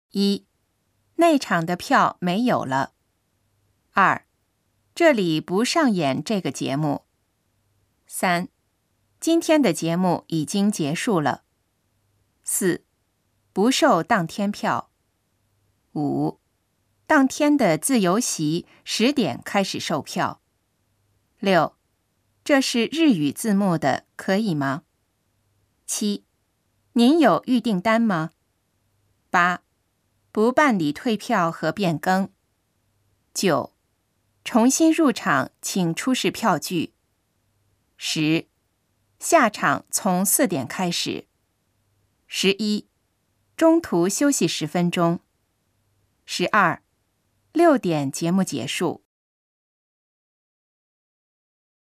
1. 内场的票没有了。2. 这里不上演这个节目。3. 今天的节目已经结束了。4. 不售当天票。5. 当天的自由席10点开始售票。6. 这是日语字幕的，可以吗？ 7. 您有预订单吗？ 8. 不办理退票和变更。9. 重新入场请出示票据。10. 下场从4点开始。11. 中途休息10分钟。12. 6点节目结束。